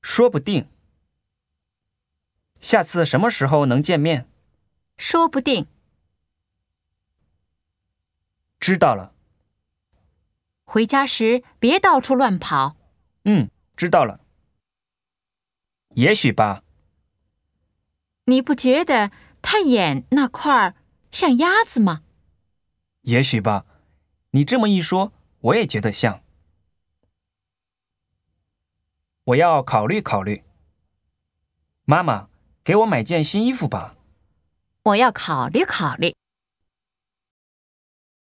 说不定。下次什么时候能见面？ 说不定。 知道了。 回家时别到处乱跑。 知道了。也许吧。 你不觉得他眼那块儿像鸭子吗？ 也许吧。你这么一说，我也觉得像。我要考虑考虑。妈妈，给我买件新衣服吧。 我要考虑考虑。